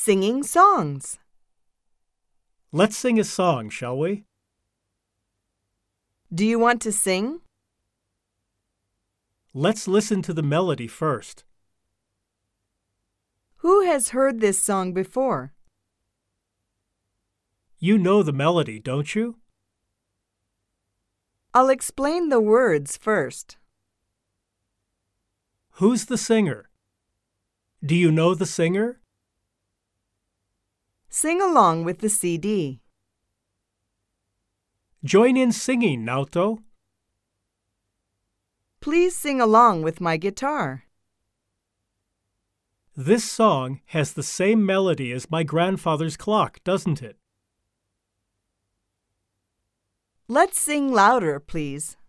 Singing songs. Let's sing a song, shall we? Do you want to sing? Let's listen to the melody first. Who has heard this song before? You know the melody, don't you? I'll explain the words first. Who's the singer? Do you know the singer? Sing along with the CD. Join in singing, Naoto. Please sing along with my guitar. This song has the same melody as my grandfather's clock, doesn't it? Let's sing louder, please.